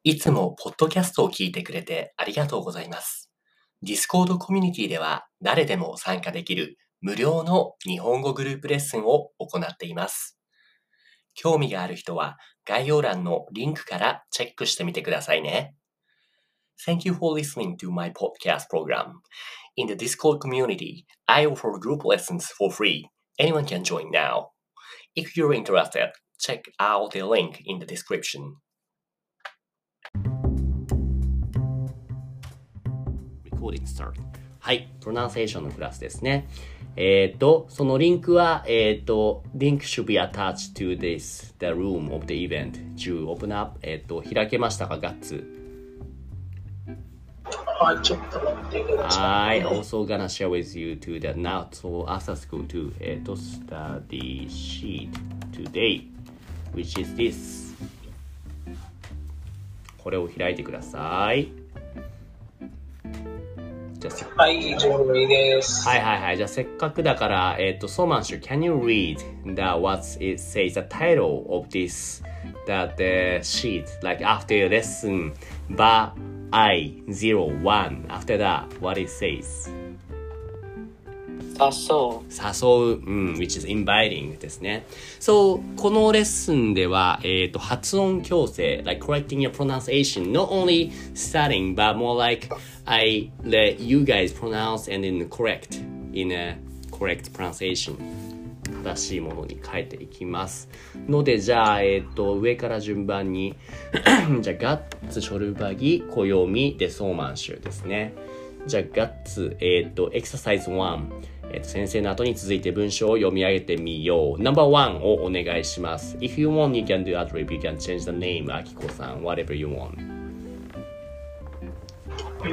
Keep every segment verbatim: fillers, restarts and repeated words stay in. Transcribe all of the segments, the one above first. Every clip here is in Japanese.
いつもポッドキャストを聞いてくれてありがとうございます。Discord コミュニティでは誰でも参加できる無料の日本語グループレッスンを行っています。興味がある人は概要欄のリンクからチェックしてみてくださいね。Thank you for listening to my podcast program. In the Discord community, I offer group lessons for free. Anyone can join now. If you're interested, check out the link in the description. Recording start. はい、プロナンセーションのクラスですね。えっ、ー、と、そのリンクは、えっ、ー、と、link should be attached to this, the room of the event. To open up. えっ、ー、と、開けましたか、ガッツ。 はい、ちょっと待ってください。 I also gonna share with you to the now, so after school too. えっ、ー、と、study sheet today, which is this. これを開いてください。 はい、準備です。 はいはいはい。じゃあせっかくだから、えっ、ー、と、ソーマンシュ、can you read the what it says, the title of this, that the sheet, like after lesson, but I, zero, one, after that, what it says? 誘う。 誘う、うん、which is inviting ですね。そう、このレッスンでは、えっ、ー、と、発音矯正、like correcting your pronunciation, not only studying, but more like I let you guys pronounce and then correct in a correct pronunciation. 正しいものに変えていきます。ので、じゃあ、えっ、ー、と、上から順番に、じゃあ、ガッツ、ショルバギ、小読み、で、ソーマンシュですね。じゃあ、ガッツ、えっ、ー、と、エクササイズワン。えっと、先生の後に続いて文章を読み上げてみよう。ナンバーワンをお願いします。If you want, you can do a trip. You can change the name, あきこさん。Whatever you want. うん、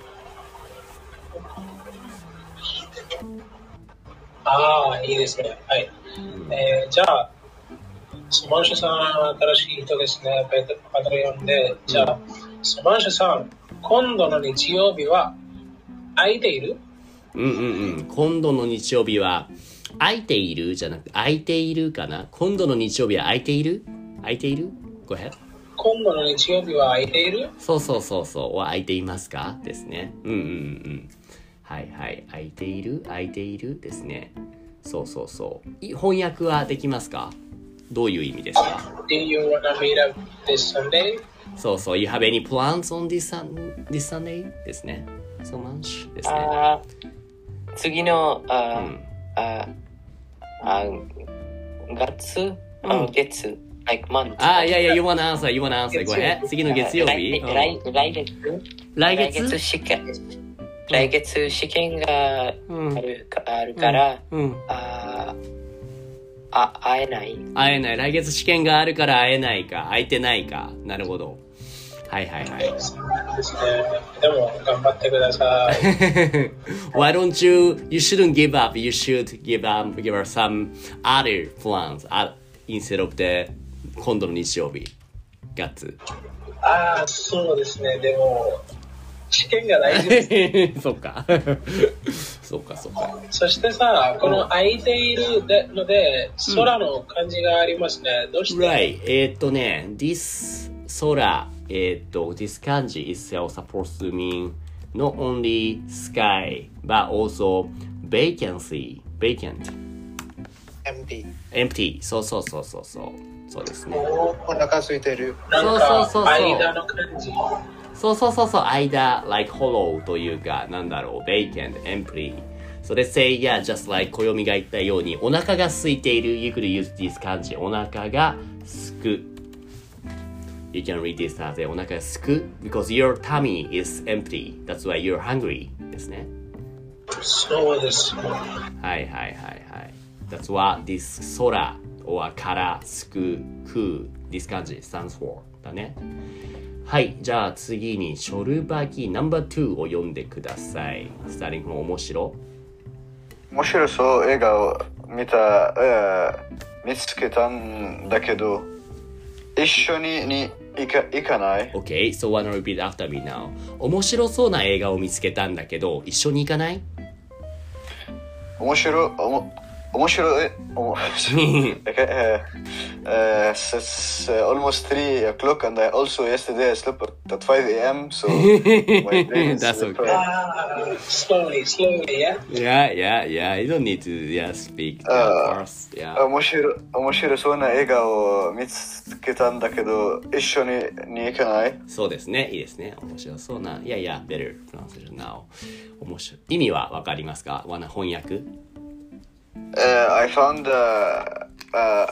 ああ、いいですね。はい。うん、えー、じゃあ、ソマンシュさん、新しい人ですね。パトレオンで。じゃあ、ソマンシュさん、今度の日曜日は空いている？ うんうんうん。今度の日曜日は空いているじゃなくて空いているかな。今度の日曜日は空いている空いている Go ahead. 今度の日曜日は空いているそうそうそうそう。は空いていますかですね。うんうんうん。はいはい。空いている空いているですね。そうそうそう。翻訳はできますか？どういう意味ですか？ Do you wanna meet up this Sunday? そうそう。You have any plans on this, sun, this Sunday? ですね。So much ですね。 あ次のあ、うん、ああ月、うん、月 like month あいやいや you wanna answer you wanna answer go ahead 次の月曜日来来月来月来月試験来月試験がある、うん、あるから、うんうん、ああ会えない会えない来月試験があるから会えないか会えてないかなるほどはいはいはい。 でも頑張ってください。 Why don't you? You shouldn't give up. You should give up. Give us some other plans instead of the 今度の日曜日。ガッツ。 ああ、そうですね。でも試験が大事です。 そっか。そうかそうか。 そしてさ、この空いているので空の漢字がありますね。どうして？ Right. えーっとね、this 空。えっと、this kanji itself supposed to mean not only sky, but also vacancy, vacant. empty. empty. そうそうそうそうそう。そうですね。 お腹空いてる。 なんか間の漢字。 そうそうそうそう。間、like hollow というか、なんだろう、vacant, empty. So let's say, yeah, just like 小読みが言ったように、お腹が空いている。You could use this 漢字。お腹がすく。You can read this as お腹がすく because your tummy is empty. That's why you're hungry ですね。 そうです。はいはいはいはい。That's what this 空 or からすくく this 漢字 stands for だね。はい。じゃあ次にショルバギナンバーツーを読んでください。スターリングの面白面白そう映画を見た、えー、見つけたんだけど一緒にに行か、行かない ?Okay, so wanna repeat after me now. 面白そうな映画を見つけたんだけど、一緒に行かない面白、おも面白い。お uh, uh, it's uh, almost three o'clock, and I also yesterday I slept at five a.m. So my brain is That's okay. Ah, slowly, slowly, yeah. Yeah, yeah, yeah. You don't need to yeah speak Uh, first. Yeah. 面白い面白そうな映画を見つけたんだけど、一緒にに行かない？ そうですね。いいですね。面白そうな。いやいや、better pronunciation now. 面白い。意味はわかりますか？わな翻訳 Uh, I found uh, uh,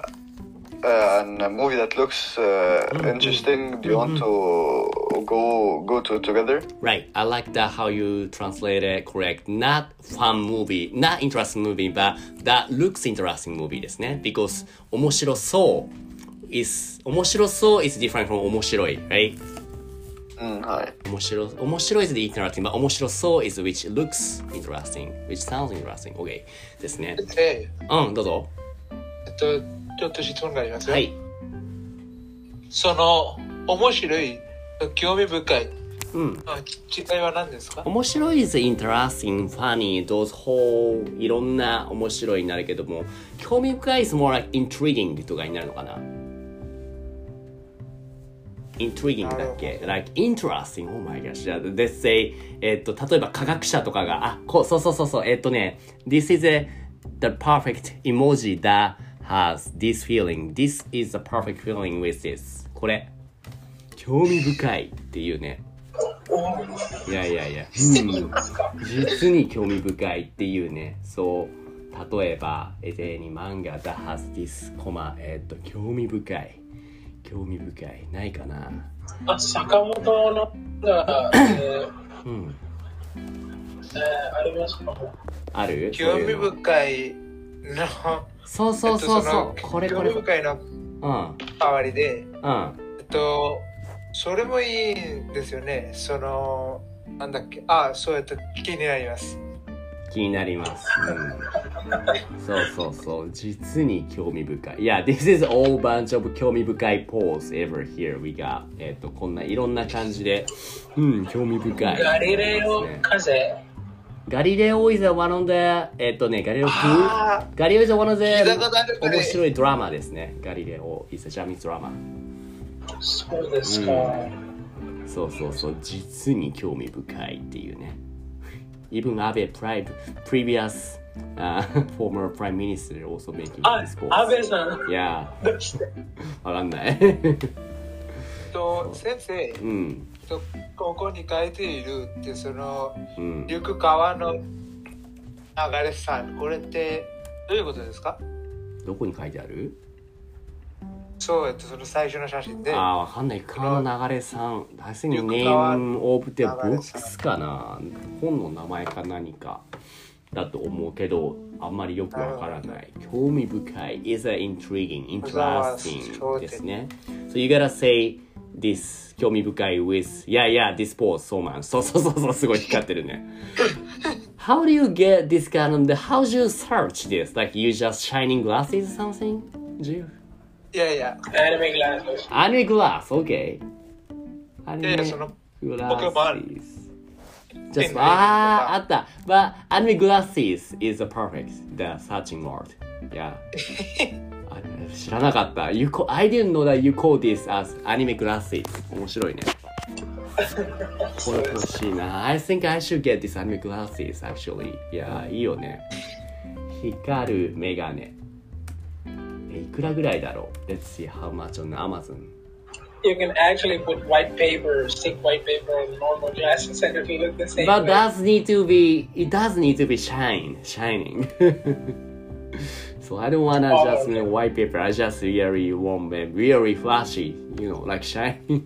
uh, a movie that looks uh, interesting. Do you want to go go to together? Right. I like that how you translate it correct. Not fun movie, not interesting movie, but that looks interesting movie ですね。Because 面白そう is 面白そう is different from 面白い right? うん、はい。 面白い面白い is the interesting, but 面白そう is which looks interesting, which sounds interesting. Okay. ですね。 で、 うん、どうぞ。 えっと、ちょっと質問がありますよ。 はい。 その、面白い、興味深い、 うん。 の違いは何ですか？ 面白い is interesting, funny, those whole いろんな面白いになるけども、興味深い is more like intriguing とかになるのかな。intriguing だっけ like interesting, oh my gosh. じゃあ let's say えっと例えば科学者とかがあこうそうそうそうそうえっとね this is a, the perfect emoji that has this feeling, this is the perfect feeling with this これ興味深いっていうねいやいやいや、うん、実に興味深いっていうねそう例えばエゼに漫画 that has this コマえっと興味深い興味深いないかなあ、坂本のが、えーうんえー、ありますかある興味深いのそうそうそうそう、 えっと、 これこれ興味深いのうん代わりで、 うんえっと、それもいいんですよね。その、なんだっけ、あ、そうやって気になります。 気になります、うん、そうそうそう実に興味深いいや this is all bunch of 興味深い pose ever here we got えっとこんないろんな感じでうん興味深いガリレオ風ガリレオ is one of the えっとねガリレオガリレオ is one of the 面白いドラマですねガリレオ is a Japanese drama そうですか、 うん、そうそうそう実に興味深いっていうねEven Abe, previous uh, former prime minister, also making this post. あ、安倍さん。 Yeah. わかんない。 と先生、 うん、 とここに書いているってその、 うん、 行く川の流れさん、これってどういうことですか？ どこに書いてある？ そうやってその最初の写真で。 ああ、わかんない。川の流れさん。I think name of the books かな。本の名前か何かだと思うけど、あんまりよくわからない。興味深い is a intriguing, interesting ですね。So you gotta say this 興味深い with yeah yeah this pose so much. そうそうそうそうすごい光ってるね。How do you get this kind of the how do you search this? Like you just shining glasses or something? Do you? いやいや、 アニメグラス。 アニメグラス、OK。アニメグラス。Just ああ、あった。But anime glasses is a perfect the searching word. Yeah. 知らなかった。You call, I didn't know that you call this as anime glasses. 面白いね。これ欲しいな。I think I should get this anime glasses actually. いや、いいよね。光るメガネ。いくらぐらいだろう Let's see how much on Amazon. You can actually put white paper, stick white paper on normal glasses and it will look the same. But way. does need to be, it does need to be shine, shining. So I don't wanna oh, just okay. white paper. I just really want them really flashy, you know, like shiny.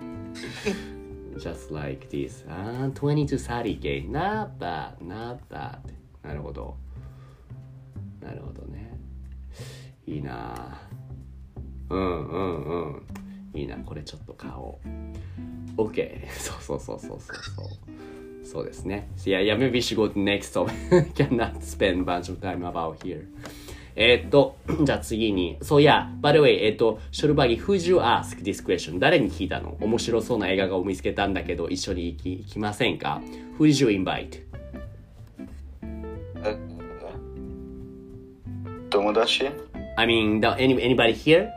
Just like this. Ah, twenty to thirty K. Not bad, not bad. なるほど。なるほどね。いいなうんうんうんいいなこれちょっと買おう OK そうそうそうそうそうそうそうですね Yeah, yeah, maybe we should go to next so cannot spend bunch of time about here えーっとじゃあ次にそうや by the way えーっとショルバギ Who'd you ask this question 誰に聞いたの面白そうな映画を見つけたんだけど一緒に行き、行きませんか Who did you invite? 友達 I mean, the, any, anybody here?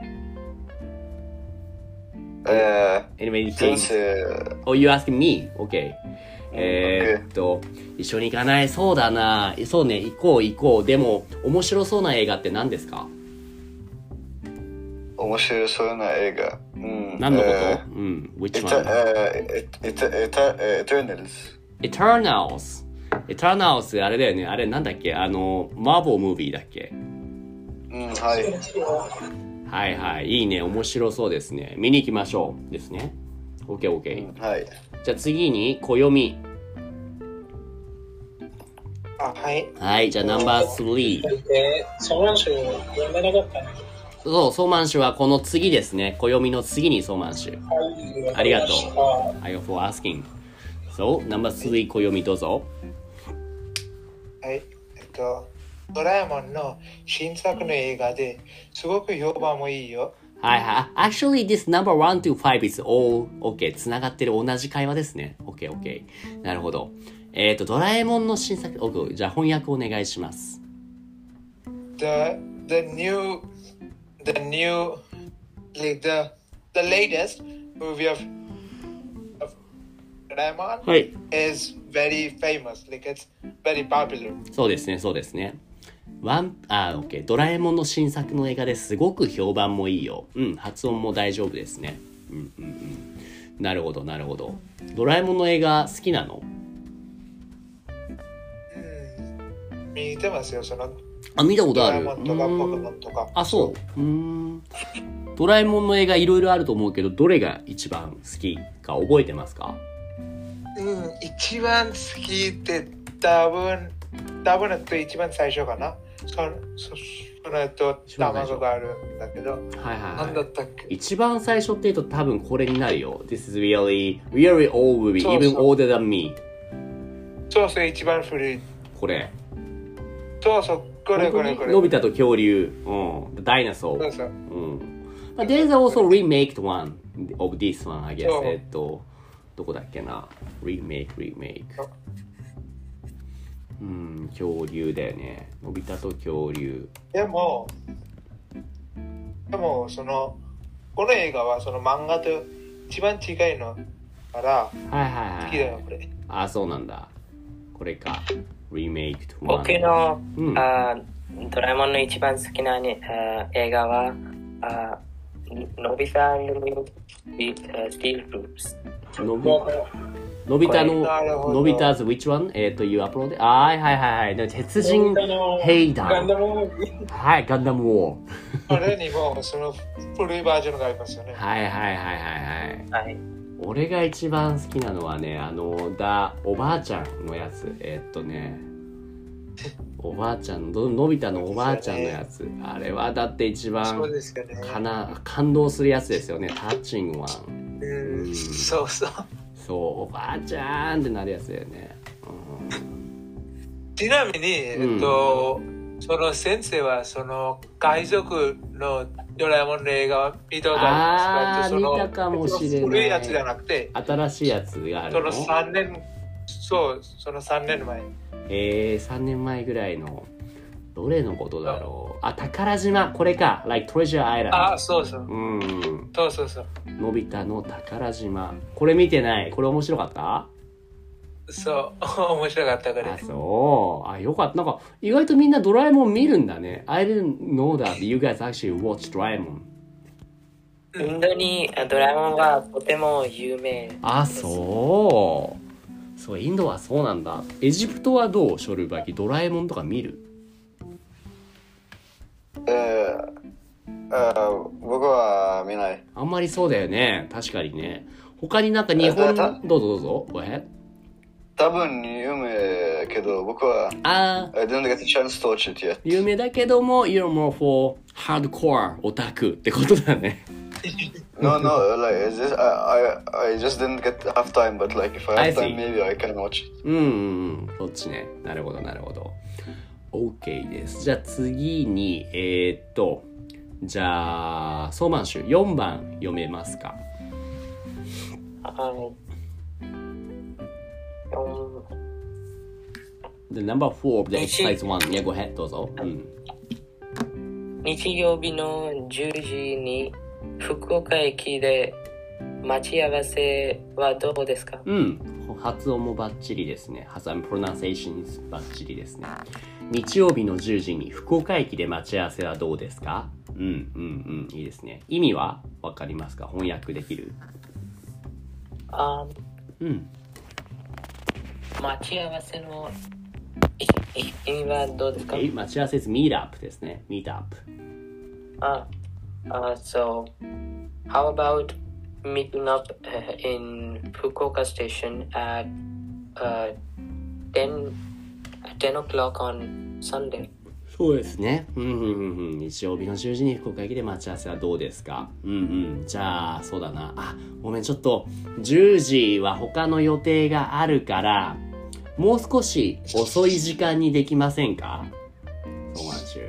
え Anybody ー、先 here? 生 Oh, you asking me? Okay. えー、っと、一緒に行かない？そうだな。そうね、行こう行こう。でも、面白そうな映画って何ですか？ 面白そうな映画。うん、 何のこと？ えー、 うん。Which エタ、 one? えー、エタ、エタ、エターナルズ。 Eternals。Eternals あれだよね。あれなんだっけ？あの、マーボームービーだっけ？ うん、はい。 はいはい。いいね。面白そうですね。見に行きましょう。ですね。OK, OK。 はい。 じゃあ次に、暦。 あ、はい。 はい。じゃあナンバースリー。 で、ソーマンシュ読んでなかったね。 そう、ソーマンシュはこの次ですね。暦の次にソーマンシュ。 はい、 ありがとう。 は I go for asking. So, ナンバースリー、暦どうぞ。 はい。えっと、ドラえもんの新作の映画ですごく評判もいいよ。 はいはい。Actually, this number one to five is all OK. つながってる同じ会話ですね。OK, OK. なるほど。えっ、ー、と、ドラえもんの新作、OK。じゃあ翻訳お願いします。 The, the new, the new, like the, the latest movie of, of Doraemon はい。 is very famous. Like it's very popular. そうですね、そうですね。ワン、あ、OK。ドラえもんの新作の映画ですごく評判もいいよ。うん、発音も大丈夫ですね。うんうんうん。なるほど、なるほど。ドラえもんの映画好きなの？ うん。見てますよ、その。 あ、見たことある。 ドラえもんとかポケモンとか。 あ、そう。うーん。ドラえもんの映画いろいろあると思うけど、どれが一番好きか覚えてますか？ うん、一番好きって多分、多分と一番最初かな。そそその後、卵があるんだけど、 はいはいはい。 何だったっけ？ 一番最初って言うと多分これになるよ。This is really, really old movie, そうそう even older than me. そうそう、一番古い。 これ。 そうそう、これこれこれ。 のび太と恐竜。うん。The dinosaur. そうそう。 うん。But there's also remaked one of this one, I guess. そうえっと、どこだっけな。remake, remake. うん、恐竜だよね。のび太と恐竜。 でも、でも、その、この映画はその漫画と一番近いのから、 はいはいはい。 好きだよ、これ。 あ、そうなんだ。これか。remaked one. 僕の、 うん、 あドラえもんの一番好きな、ね、あ映画は、あのび太のスティールループス。 のびのび太の、 なるほどのび太 's which one? えっ、ー、と、you upload? あーはいはいはいはい。鉄人兵団。 ガンダムムービー。 はい、ガンダムウォー。 これにもその古いバージョンがありますよね。 はいはいはいはいはい。 はい。 俺が一番好きなのはね、あの、だ、おばあちゃんのやつ。えっとね、おばあちゃんの、のび太のおばあちゃんのやつ。あれはだって一番そうですよね。 かな、感動するやつですよね。タッチングワン。 うん、 うんそうそう。 そう、おばあちゃんってなるやつだよね。うん、 ちなみに、えっと、その先生はその海賊のドラえもんの映画は見たことああー、 りますか？ 見たかもしれない。 古いやつじゃなくて、 新しいやつがあるの？ そのさんねん、そう、そのさんねんまえ。 えー、さんねんまえぐらいの、どれのことだろう。あ、宝島、これか。Like Treasure Island。 あ、そうそう。 うん。 そうそうそう。 のび太の宝島。これ見てない。これ面白かった？ そう、面白かったからあ、 ね。 そう。あ、よかった。なんか、意外とみんなドラえもん見るんだね。I didn't know that you guys actually watch ドラえもん。 インドにドラえもんはとても有名。 あ、そう。そう、インドはそうなんだ。エジプトはどう？ショルバキ。ドラえもんとか見る？ えー、あー僕は見ない。 あんまりそうだよね。確かにね。他になんか日本、どうぞどうぞ。Go ahead。 多分有名けど、僕はあー、 I didn't get a chance to watch it yet. 有名だけども、you're more for hardcore オタクってことだね。 No, no, like it's just, I, I, I just didn't get have time, but like if I I have see. time, maybe I can watch it. うんうんうん。そっちね。なるほどなるほど。OK です。じゃあ次に、えー、っと、じゃあ、ソーマンシュよんばん読めますか？ はい。 The number four of the exercise one. Yeah, go ahead. どうぞ。うん。 日曜日のじゅうじに福岡駅で待ち合わせはどうですか？ うん。発音もバッチリですね。発音、プロナンセーションバッチリですね。日曜日のじゅうじに福岡駅で待ち合わせはどうですか？うんうんうん。いいですね。意味はわかりますか？翻訳できる？ あうん。 待ち合わせの意味はどうですか？ Okay. 待ち合わせ is meet up ですね。meet up。 あ、uh, so how about meeting up uh, in Fukuoka station at uh, ten, ten o'clock on Sunday? そうですね。うんうんうんうん。日曜日のじゅうじに福岡駅で待ち合わせはどうですか？うんうん。じゃあ、そうだな。あ、ごめん、ちょっと、じゅうじは他の予定があるから、もう少し遅い時間にできませんか？そうなんですよ。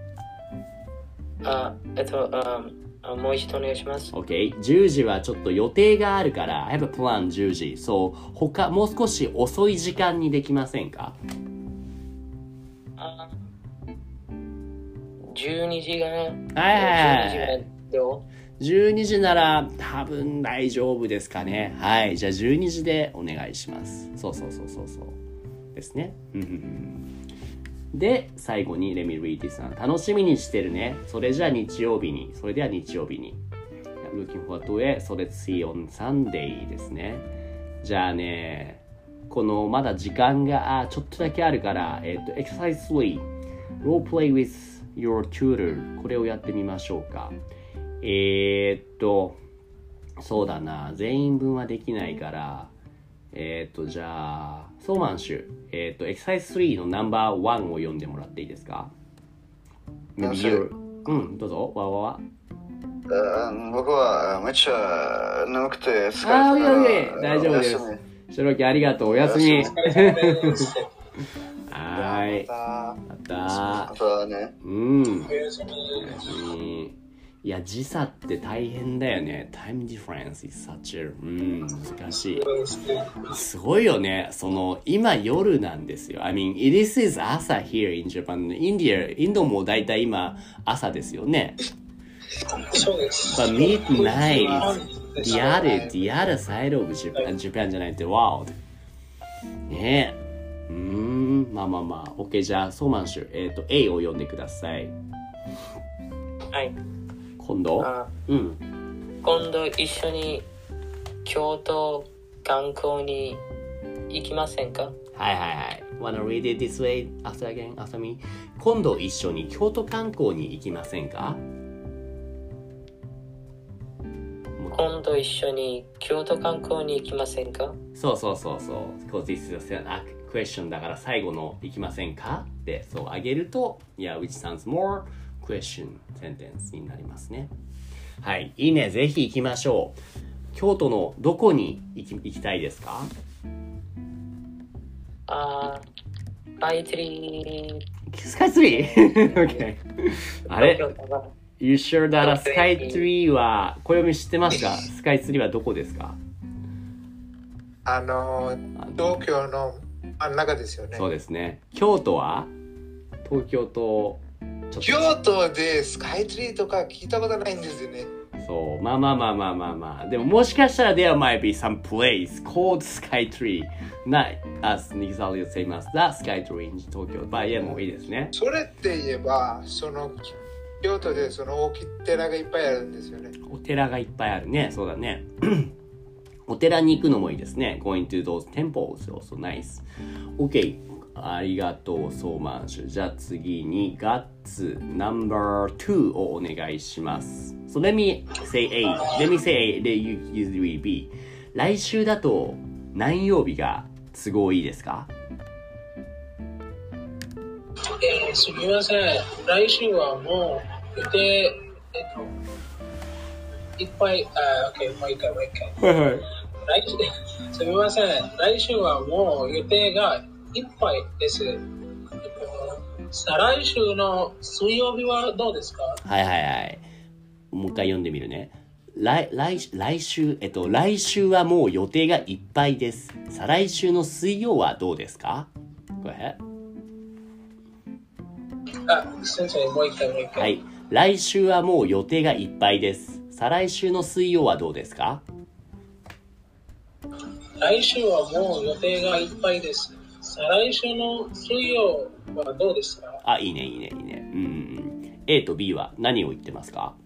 あ、えっと、um, もう一度お願いします。 OK。じゅうじはちょっと予定があるから、I have a plan じゅうじ。そう、他、もう少し遅い時間にできませんか？ あ、じゅうにじが、はいはいはい。 どう？ じゅうにじなら多分大丈夫ですかね。はい。じゃあじゅうにじでお願いします。そうそうそうそうそう。ですね。で、最後にレミリーティさん。楽しみにしてるね。それじゃあ日曜日に。それでは日曜日に。Looking forward to it. So let's see on Sunday ですね。じゃあね、このまだ時間がちょっとだけあるから、えっと、Exercise スリー。Role play with your tutor。これをやってみましょうか。えー、っと、そうだな。全員分はできないから、えー、っと、じゃあ、ソーマンシュ、えー、っと、エクササイズスリーのナンバーワンを読んでもらっていいですか？うん、どうぞ、わわわ。 僕はめっちゃ眠くて疲れてああ、いやいや、大丈夫です。シロキありがとう、おやすみ。はーい。また。 またね。 うん。おやすみ。いや、時差って大変だよね。Time difference is such a... うん、難しい。すごいよね。その、今夜なんですよ。I mean, this is 朝 here in Japan. インディア、インドもだいたい今朝ですよね。 そうです。 But midnight is the other, the other side of Japan, Japan じゃないって world. ねえ。うーん、まあまあまあ。OK、じゃあ、ソーマンシュ、えっと、A を読んでください。 はい。 今度、うん、 今度一緒に京都観光に行きませんか？ はいはいはい。Wanna read it this way after again after me? 今度一緒に京都観光に行きませんか？ 今度一緒に京都観光に行きませんか？ そうそうそうそう。Because this is a question だから最後の行きませんかってそうあげると、Yeah, which sounds more question sentence になりますね。はい、いいね。ぜひ行きましょう。京都のどこに行き、行きたいですか？ あー、スカイツリー。スカイツリー？OK。あれ？You sure that スカイツリーは、小読み知ってますか？スカイツリーはどこですか？ あの、東京の真ん中ですよね。 そうですね。京都は？東京と京都でスカイツリーとか聞いたことないんですよね。 そう、まあまあまあまあまあまあ。でももしかしたら there might be some place called Sky Tree. Not as exactly the same as that Sky Tree in 東京。まあいやもういいですね。 それって言えば、その京都でその大きい寺がいっぱいあるんですよね。 お寺がいっぱいあるね。そうだね。お寺に行くのもいいですね。Going to those temples also nice. OK。ありがとう、ソーマンシュ。じゃあ次に、ガッツナンバーツーをお願いします。So let me say A. Let me say A. Let you usually B. 来週だと何曜日が都合いいですか？ えー、すみません。来週はもう予定、えっと、いっぱい、あ、OK、もう一回、もう一回。はいはい。来週、すみません。来週はもう予定がいっぱいです。再来週の水曜日はどうですか？ はいはいはい。もう一回読んでみるね。来、来、来週、えっと、来週はもう予定がいっぱいです。再来週の水曜はどうですか？ Go ahead。 あ、先生、もう一回もう一回。 はい。 来週はもう予定がいっぱいです。再来週の水曜はどうですか？ 来週はもう予定がいっぱいです。再来週の水曜はどうですか？ あ、いいね、いいね、いいね。うん。A と B は何を言ってますか？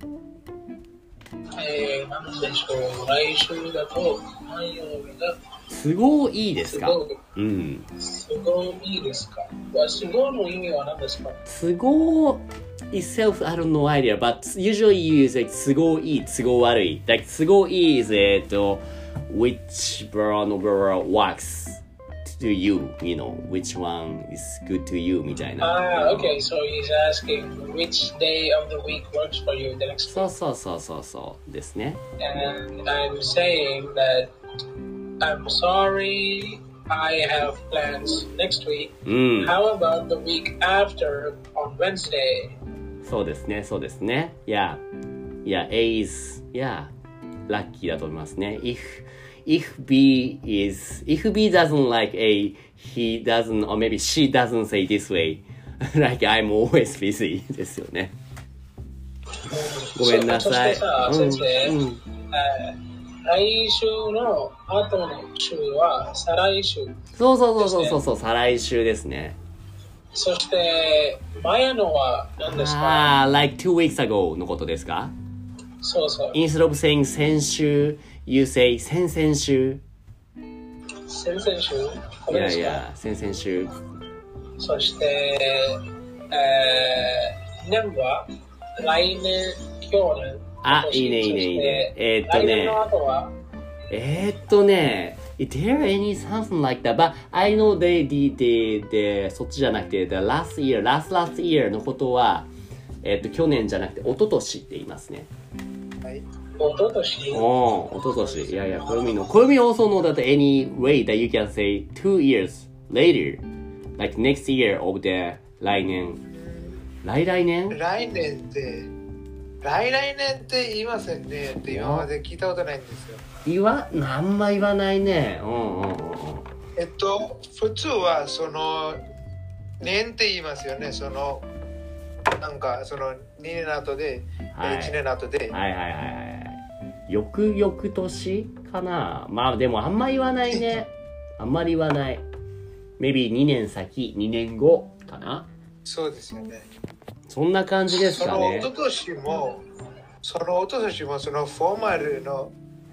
えー、なんでしょう。来週だと、何曜日だ？ 都合いいですか？ 都合うん。 都合いいですか？都合の意味は何ですか？ 都合 itself, I don't know idea, but usually you use like 都合いい、都合悪い。Like 都合いい is, えっと、which one works to you, you know, which one is good to you みたいな。 Ah, okay, so he's asking which day of the week works for you the next week. そうそうそうそうそうですね。 And I'm saying that I'm sorry, I have plans next week. うん。 How about the week after on Wednesday? そうですね、そうですね。Yeah, yeah, A is, yeah, ラッキーだと思いますね。If, if B is, if B doesn't like A, he doesn't, or maybe she doesn't say this way, like I'm always busy ですよね。ごめんなさい。 そしてさ、先生、 うんうん、 えー来週の後の週は再来週。 そうそうそうそうそう、再来週ですね。 そして前のは何ですか？ ああ、like two weeks ago のことですか？ そうそう。 Instead of saying 先週、you say 先々週。 先々週？こいれですか？ やいや、先々週。 そして、えー、年は来年、去年。 あ、いいねいいねいいね。えー、っとね。 来年の後はえー、っとね。Is there any something like that? But I know they did, the, the, そっちじゃなくて、the last year, last last year のことは、えー、っと、去年じゃなくて、一昨年って言いますね。 はい。一昨年おー、一昨年。いやいや、これみの。これみ also know that any way that you can say two years later, like next year of the 来年。来来年来年って、来来年って言いませんねって今まで聞いたことないんですよ。 言わ、あんま言わないね。うんうんうん。 えっと、普通はその、年って言いますよね。その、なんかそのにねん後で、はい、いちねん後で。 はいはいはいはい。翌々年かな。まあでもあんま言わないね。あんまり言わない。maybe にねん先、にねんごかな。 そうですよね。 そんな感じですかね。 その一昨年も、その一昨年もそのフォーマルの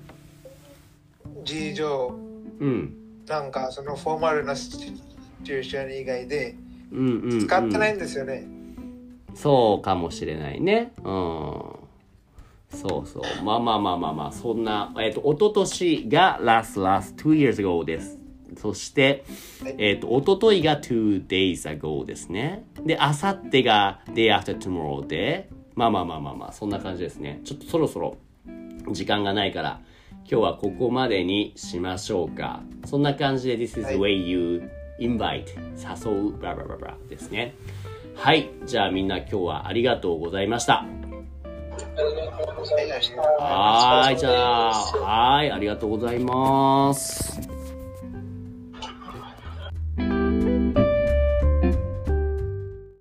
事情、うん、なんかそのフォーマルなシチュエーション以外で使ってないんですよね。うんうんうん、 そうかもしれないね。うん。そうそう。まあまあまあまあまあ、そんな、えっと、一昨年が last last two years ago です。そして、えっと、一昨日が two days ago ですね。で、あさってが day after tomorrow で、まあまあまあまあまあ、そんな感じですね。ちょっとそろそろ時間がないから、今日はここまでにしましょうか。そんな感じで This is the way you invite 誘うブラブラブラブラですね。はい。じゃあみんな今日はありがとうございました。 ありがとうございました。 はい。じゃあ、はい。ありがとうございます。